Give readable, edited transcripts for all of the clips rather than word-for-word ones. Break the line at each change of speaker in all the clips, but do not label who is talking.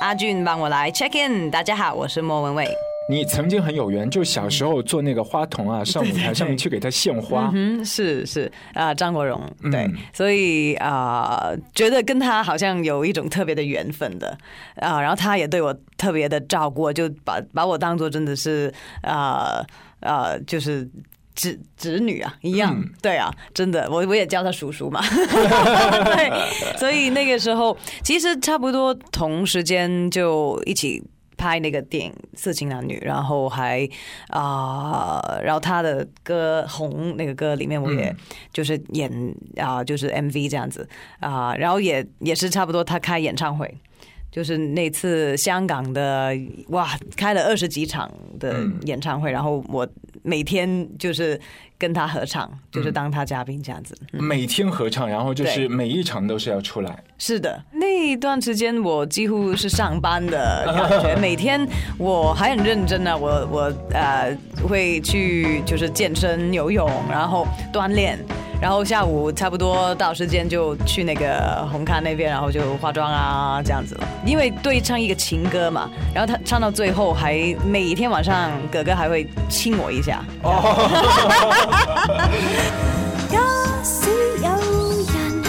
阿俊帮我来 check in。大家好，我是莫文蔚。
你曾经很有缘，就小时候做那个花童啊，上舞台上面去给他献花。
是张国荣，对，所以觉得跟他好像有一种特别的缘分的然后他也对我特别的照顾，就把我当作真的是就是侄女啊一样，对啊，真的，我也叫他叔叔嘛，对，所以那个时候其实差不多同时间就一起拍那个电影《色情男女》，然后然后他的歌《红》那个歌里面，我也就是演就是 MV 这样子然后也是差不多他开演唱会。就是那次香港的开了20几场的演唱会，然后我每天就是跟他合唱，就是当他嘉宾这样子。
每天合唱，然后就是每一场都是要出来。
是的，那一段时间我几乎是上班的感觉，每天我还很认真啊，我会去就是健身、游泳，然后锻炼。然后下午差不多到时间就去那个红磡那边，然后就化妆啊这样子了。因为对唱一个情歌嘛，然后他唱到最后还每一天晚上哥哥还会亲我一下。
假使有人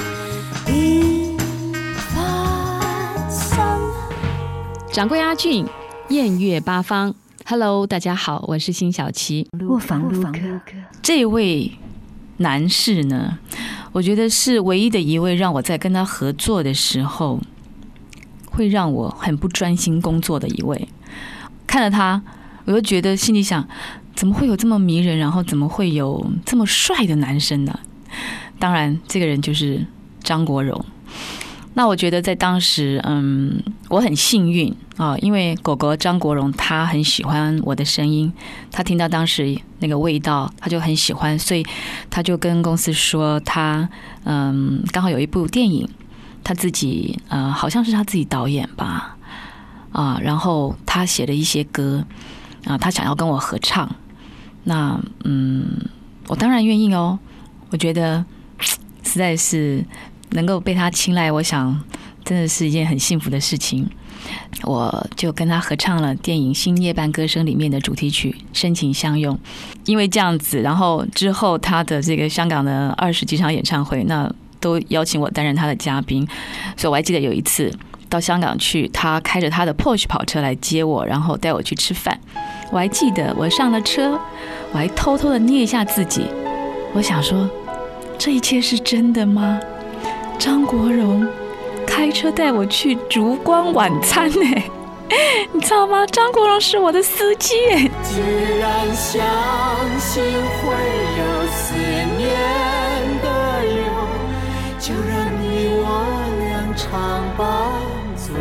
別發生。
掌柜阿俊，艳月八方。Hello， 大家好，我是辛晓琪。
卧房录歌，
这位男士呢，我觉得是唯一的一位让我在跟他合作的时候会让我很不专心工作的一位。看了他，我就觉得心里想，怎么会有这么迷人，然后怎么会有这么帅的男生呢？当然这个人就是张国荣。那我觉得在当时我很幸运因为狗狗张国荣他很喜欢我的声音，他听到当时那个味道他就很喜欢，所以他就跟公司说他刚好有一部电影他自己好像是他自己导演吧然后他写了一些歌他想要跟我合唱。那我当然愿意哦，我觉得实在是能够被他青睐，我想真的是一件很幸福的事情。我就跟他合唱了电影《新夜半歌声》里面的主题曲《深情相拥》。因为这样子，然后之后他的这个香港的20几场演唱会，那都邀请我担任他的嘉宾。所以我还记得有一次到香港去，他开着他的 Porsche 跑车来接我，然后带我去吃饭。我还记得我上了车，我还偷偷的捏一下自己，我想说这一切是真的吗？张国荣开车带我去烛光晚餐你知道吗？张国荣是我的司机
既然相信会有思念的忧，就让你我俩常伴左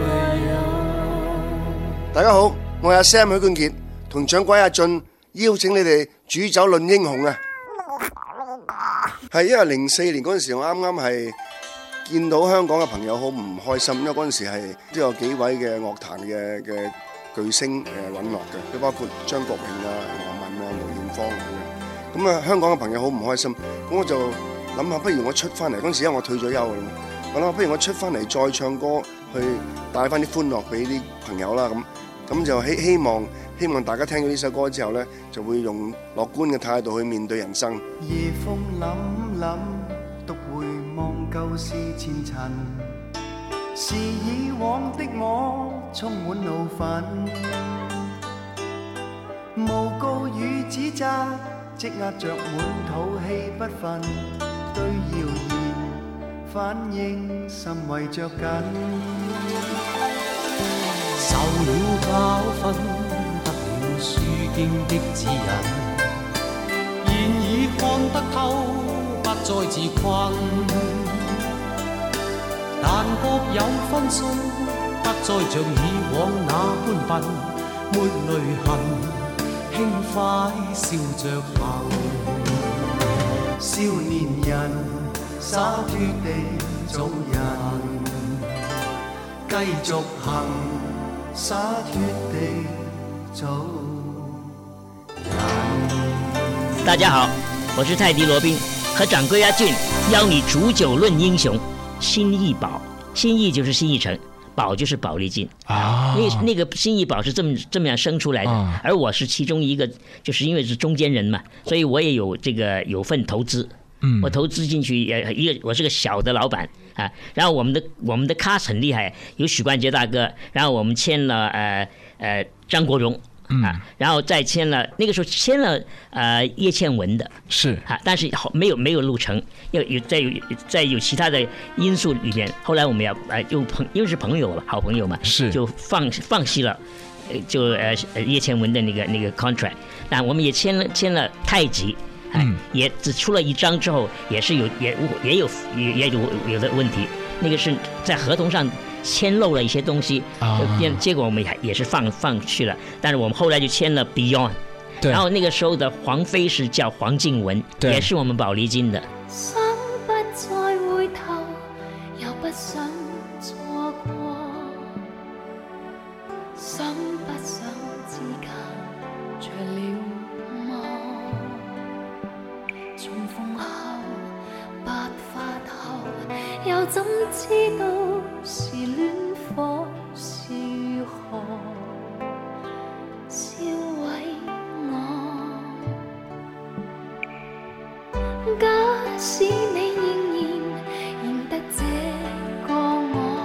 右。
大家好，我係阿 Sam 許冠傑，同掌櫃阿俊邀請你哋煮酒論英雄啊！係因為04年嗰陣時，我啱啱係見到香港嘅朋友好唔開心，因為嗰陣時係都有幾位嘅樂壇嘅巨星隕落嘅，都包括張國榮啊、羅文啊、梅艷芳咁樣。咁啊，香港嘅朋友好唔開心，咁我就諗下，不如我出翻嚟嗰陣時，因為我退咗休啦，我諗不如我出翻嚟再唱歌，去帶翻啲歡樂俾啲朋友啦。咁就希望大家聽到呢首歌之後呢，就會用樂觀嘅態度去面對人生。
夜風凜凜，獨回望舊事前塵，是以往的我充滿怒憤，誣告與指責積壓着滿肚氣不忿，對謠言反應甚為着緊，受了教訓，得了書經的指引，現已看得透，不再自困，但各有分數，不再像以往那般笨，沒淚痕，輕快笑着行，少年人灑脱地做人，繼續行，灑脱地做人。
大家好，我是泰迪羅賓，和掌櫃阿俊邀你煮酒論英雄。心意寶，心意就是新意城，寶宝就是宝丽金啊，那个新艺宝是这么样生出来的，而我是其中一个，就是因为是中间人嘛，所以我也有份投资。我投资进去我是个小的老板啊，然后我们的 cast 很厉害，有许冠杰大哥，然后我们签了张国荣啊，然后再签了那个时候签了叶倩文的
是
啊，但是没有录成，在有其他的因素里面，后来我们因为是朋友了，好朋友嘛，
是就
放弃了。就叶倩文的那个 contract， 那我们也签了太极。也只出了1张之后，也有的问题，那个是在合同上签漏了一些东西，结果我们也是放弃了。但是我们后来就签了 Beyond， 然后那个时候的黄飞是叫黄静雯，也是我们宝丽金的。
想不再回头，又不想错过，想不想之間着了魔？重逢後，白髮後，又怎知道是戀火是何燒毀我？假使你仍然認得這個我，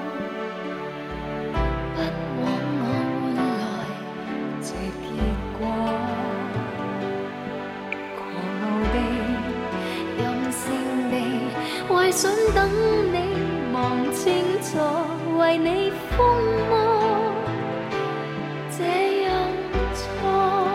不枉我換來這結果。為想等你望清楚，為你瘋魔，這樣錯。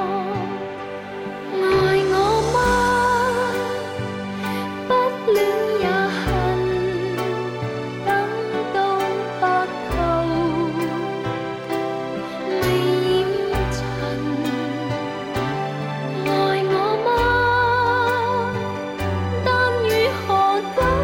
愛我嗎？不戀也恨，等到白頭未染塵。愛我嗎？但如何等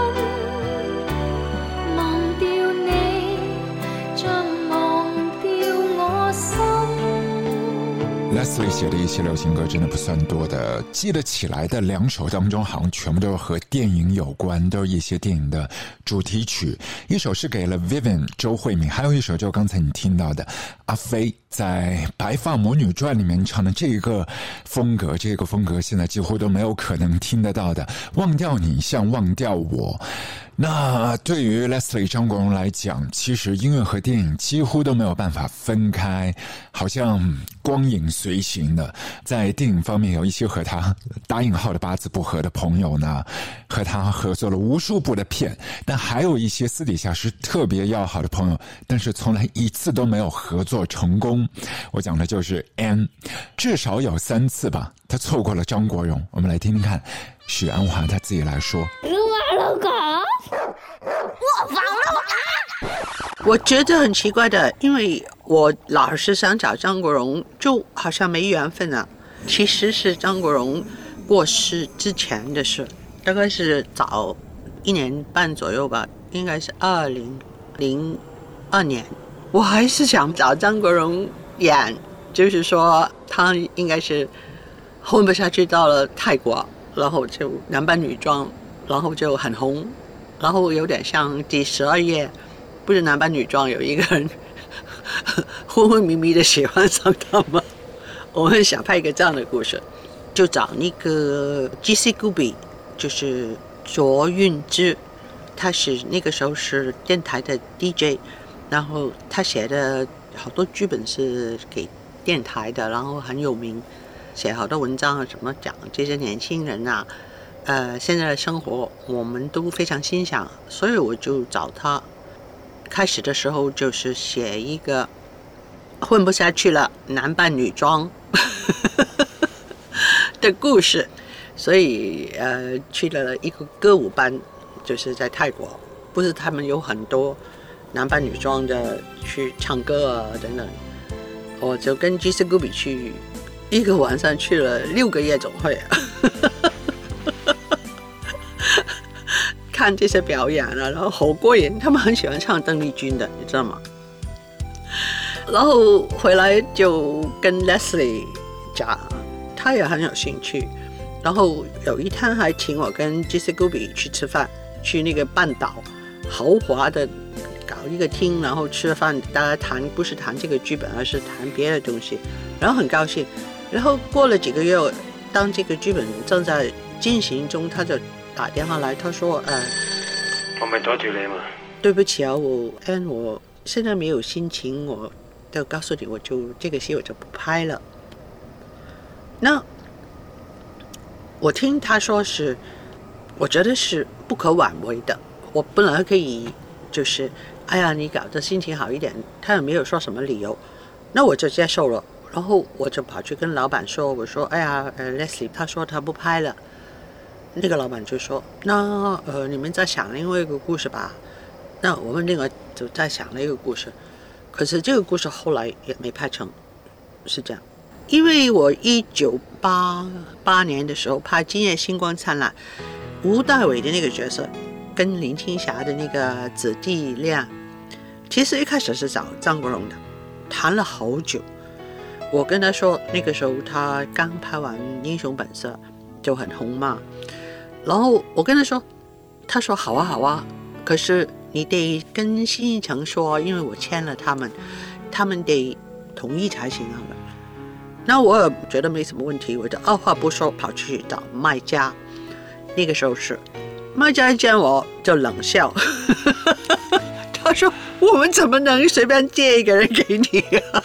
Leslie 写的一些流行歌真的不算多的，记得起来的2首当中好像全部都是和电影有关，都是一些电影的主题曲。一首是给了 Vivian 周慧敏，还有一首就刚才你听到的阿飞在《白发魔女传》里面唱的这个风格，现在几乎都没有可能听得到的。忘掉你像忘掉我。那对于 Leslie 张国荣来讲，其实音乐和电影几乎都没有办法分开，好像光影随行的。在电影方面有一些和他打引号的八字不合的朋友呢，和他合作了无数部的片，但还有一些私底下是特别要好的朋友，但是从来一次都没有合作成功。我讲的就是 Anne， 至少有3次吧，他错过了张国荣。我们来听听看许鞍华他自己来说。
我忘了啊！我觉得很奇怪的，因为我老是想找张国荣，就好像没缘分啊。其实是张国荣过世之前的事，大概是早1年半左右吧，应该是2002年。我还是想找张国荣演，就是说他应该是混不下去，到了泰国，然后就男扮女装，然后就很红。然后有点像第12页，不是男扮女装，有一个人昏昏迷迷的喜欢上他吗？我们想拍一个这样的故事，就找那个 G.C. Gubi， 就是卓韵芝，他是那个时候是电台的 DJ， 然后他写的好多剧本是给电台的，然后很有名，写好多文章啊，什么讲这些年轻人啊。现在的生活我们都非常欣赏，所以我就找他。开始的时候就是写一个混不下去了，男扮女装的故事，所以去了一个歌舞班，就是在泰国，不是他们有很多男扮女装的去唱歌啊等等，我就跟 G.C. Gubi 去一个晚上去了6个夜总会看这些表演啊，然后好过瘾，他们很喜欢唱邓丽君的，你知道吗？然后回来就跟 Leslie 讲，他也很有兴趣，然后有一天还请我跟 G.C. Gubi 去吃饭，去那个半岛豪华的一个厅，然后吃饭，大家谈不是谈这个剧本，而是谈别的东西，然后很高兴。然后过了几个月，当这个剧本正在进行中，他就打电话来，他说
我咪阻住你嘛。
对不起啊，我现在没有心情，我就告诉你，我就这个戏我就不拍了。那我听他说是，我觉得是不可挽回的。我本来可以就是哎呀你搞得心情好一点，他也没有说什么理由，那我就接受了。然后我就跑去跟老板说，我说哎呀Leslie 他说他不拍了。那个老板就说那你们再想另外一个故事吧。那我们另外就再想了一个故事，可是这个故事后来也没拍成，是这样。因为我1988年的时候拍《今夜星光灿烂》，吴大伟的那个角色跟林青霞的那个子弟恋，其实一开始是找张国荣的，谈了好久。我跟他说，那个时候他刚拍完《英雄本色》就很红嘛，然后我跟他说，他说好啊好啊，可是你得跟新艺城说，因为我签了他们得同意才行啊。那我也觉得没什么问题，我就二话不说跑去找卖家。那个时候是卖家一见我就冷笑，他说我们怎么能随便借一个人给你啊？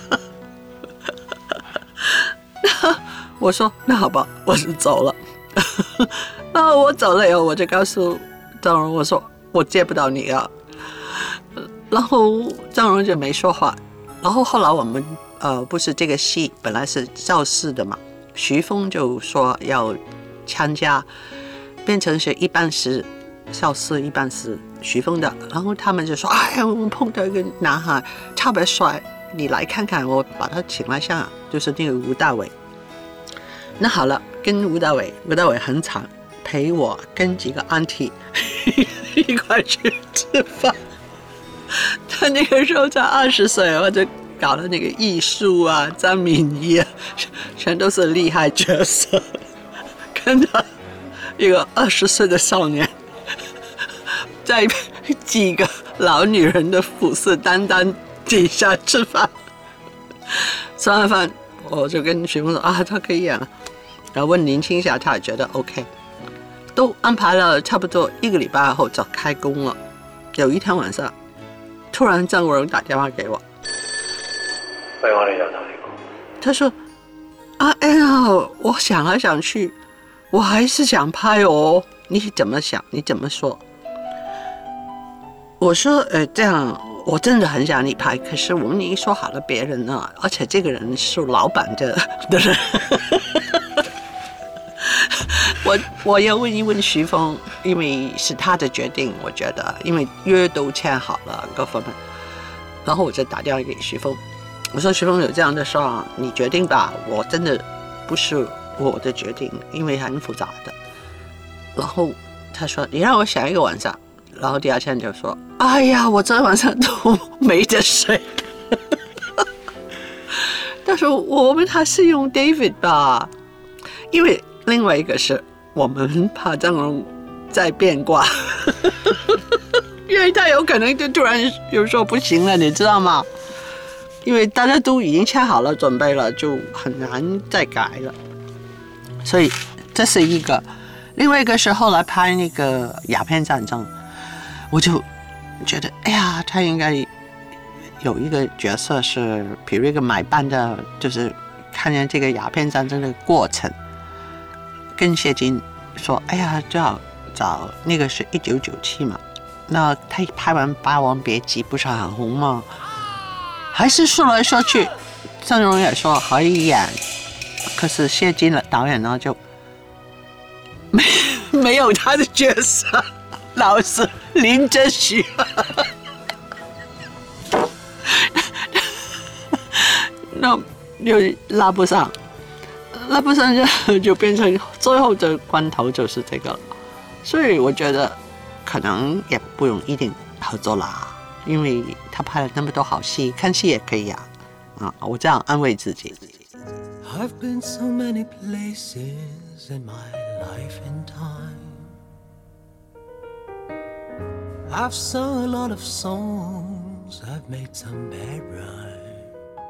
我说那好吧，我就走了。那我走了以后，我就告诉张荣，我说我借不到你啊。然后张荣就没说话。然后后来我们不是这个戏本来是赵四的嘛，徐峰就说要参加，变成是一半是赵四一半是徐峰的。然后他们就说哎呀，我们碰到一个男孩特别帅，你来看看，我把他请来上，就是那个吴大伟。那好了，跟吴大伟很惨，陪我跟几个 auntie 一块去吃饭。他那个时候才20岁，我就搞了那个艺术啊、张敏仪啊，全都是厉害角色。跟他一个20岁的少年，在几个老女人的虎视眈眈底下吃饭。吃完饭，我就跟徐峰说啊，他可以演了。然后问林青霞，他也觉得 OK， 都安排了差不多1个礼拜后就开工了。有一天晚上，突然张国荣打电话给我，
喂，我哋又同你講，
他說啊，哎呀，我想來想去，我還是想拍哦，你怎麼想？你怎麼說？我說這樣我真的很想你拍，可是我們已經說好了別人了，而且這個人是老闆的人。我要問一問徐峰，因為是他的決定，我覺得，因為約都簽好了各方面，然後我就打電話給徐峰，我說徐峰有這樣的事啊，你決定吧，我真的不是我的決定，因為很複雜的。然後他說你讓我想一個晚上，然後第二天就說哎呀，我昨天晚上都沒得睡。他說我們還是用 David 吧，因為另外一個是我們怕張國榮再變卦，因為他有可能就突然又說不行了，你知道嗎？因為大家都已經簽好了準備了，就很難再改了。所以這是一個。另外一個是後來拍那個鴉片戰爭，我就覺得哎呀，他應該有一個角色是比如一個買辦的，就是看見這個鴉片戰爭的過程，跟謝金說哎呀，最好找那個是1997嘛，那他拍完《霸王別姬》不是很紅嗎？還是說來說去鄭容也說可以演，可是謝金的導演呢就沒有他的角色，老是林則徐。那又拉不上就變成最後的關頭就是這個了。所以我覺得可能也不用一定合作啦，因為他拍了那麼多好戲，看戲也可以啊。我這樣安慰自己。
I've been so many places in my life and time. I've sung a lot of songs wrongs, I've made some bad rhyme.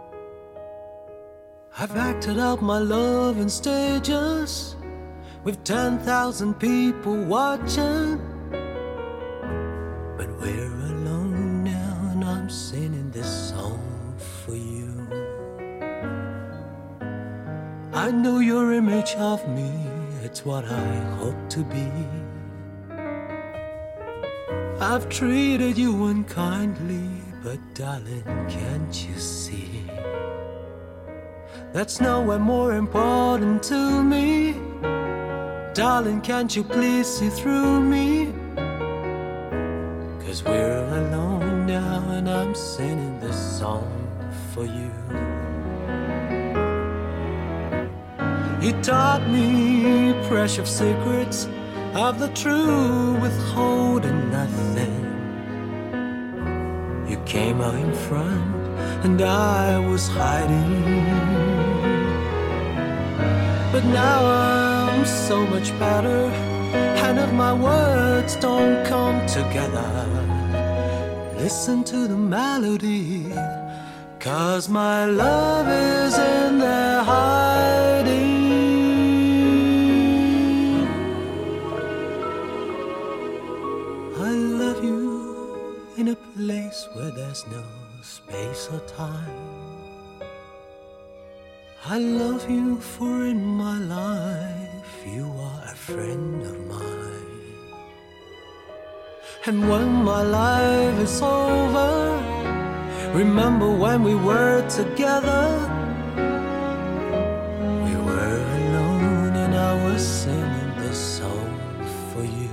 I've acted out my love in stages with 10,000 people watching. But we're alone now and I'm singing this song for you. I know your image of me, it's what I hope to be. I've treated you unkindly, but darling, can't you see? That's nowhere more important to me. Darling, can't you please see through me? 'Cause we're alone now and I'm singing this song for you. You taught me precious secrets of the true, withholding nothing. You came out in front and I was hiding. But now I'm so much better, and if my words don't come together, listen to the melody, 'cause my love is in there hiding. I love you in a place where there's no space or time. I love you for in my life you are a friend of mine. And when my life is over, remember when we were together. We were alone and I was singing this song for you.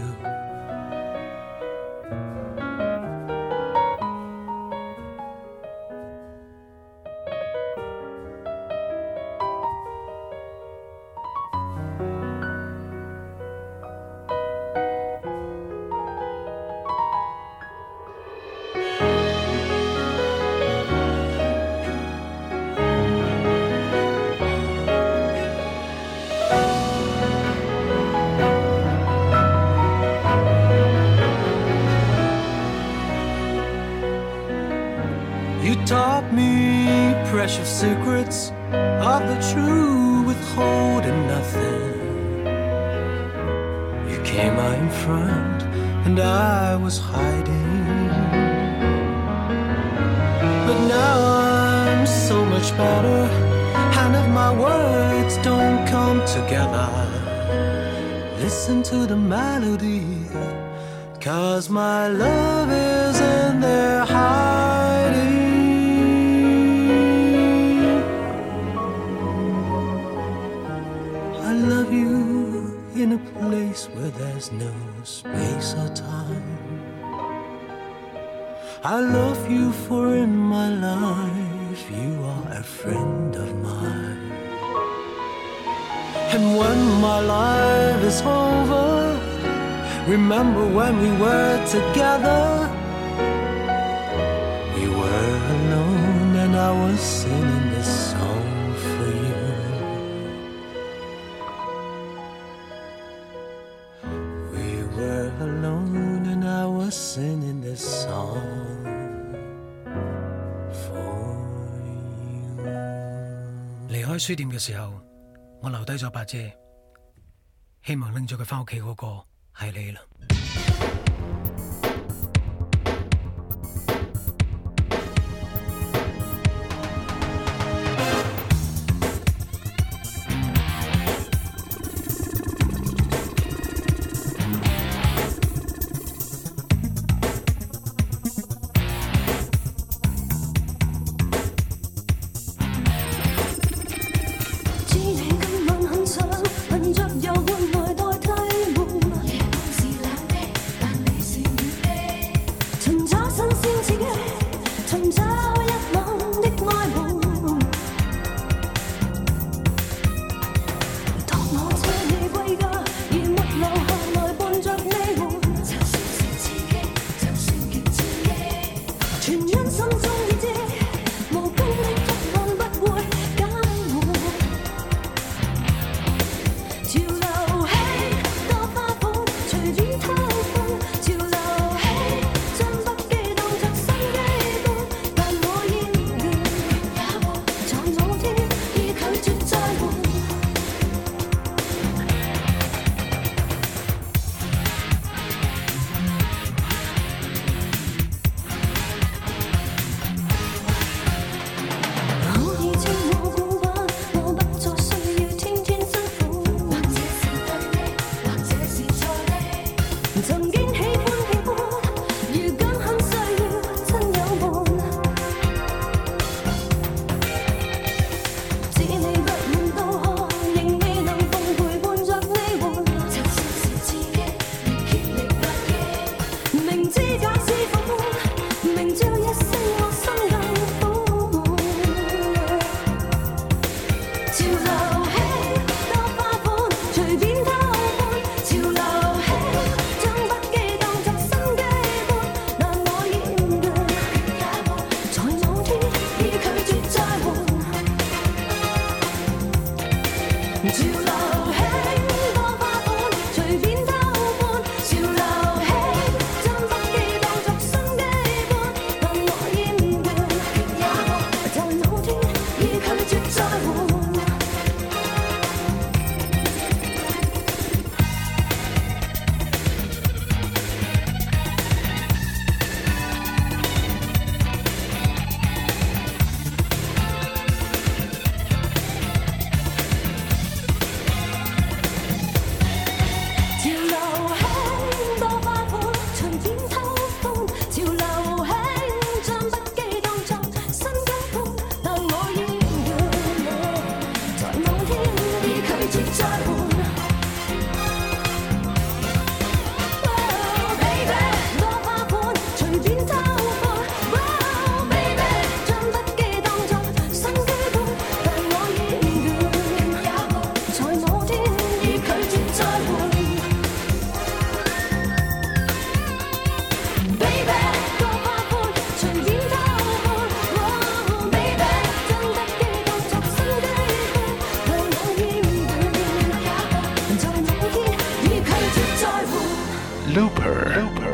You taught me precious secrets of the true, withholding nothing. You came out in front and I was hiding. But now I'm so much better, and if my words don't come together, listen to the melody, 'cause my love is in there hiding. I love you in a place where there's no space or time. I love you for in my life you are a friend of mine. And when my life is over, remember when we were together. We were alone and I was singing this song for you. We were alone and I was singing this song for you.
離開書店嘅時候，我留低咗把遮，希望拎咗佢返屋企嗰個係你啦。
恨着有換來代替換，夜半是冷的
Looper